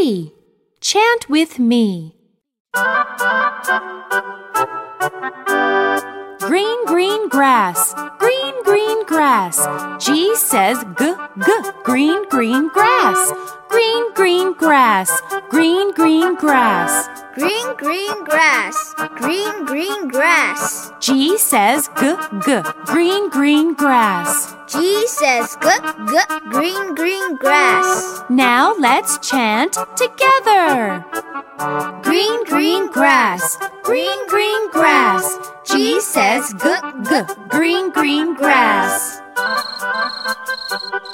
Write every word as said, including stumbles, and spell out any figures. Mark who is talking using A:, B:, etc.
A: G. Chant with me. Green, green grass, green, green grass. G says g, g, green, green grass. Green, green grass, green, green grass.
B: Green, green grass, green, green grass.
A: G says g, g, green, green grass.
B: G says g, g, green, green grass.
A: Now let's chant together. Green, green grass, green, green grass. G says g, g, green, green grass.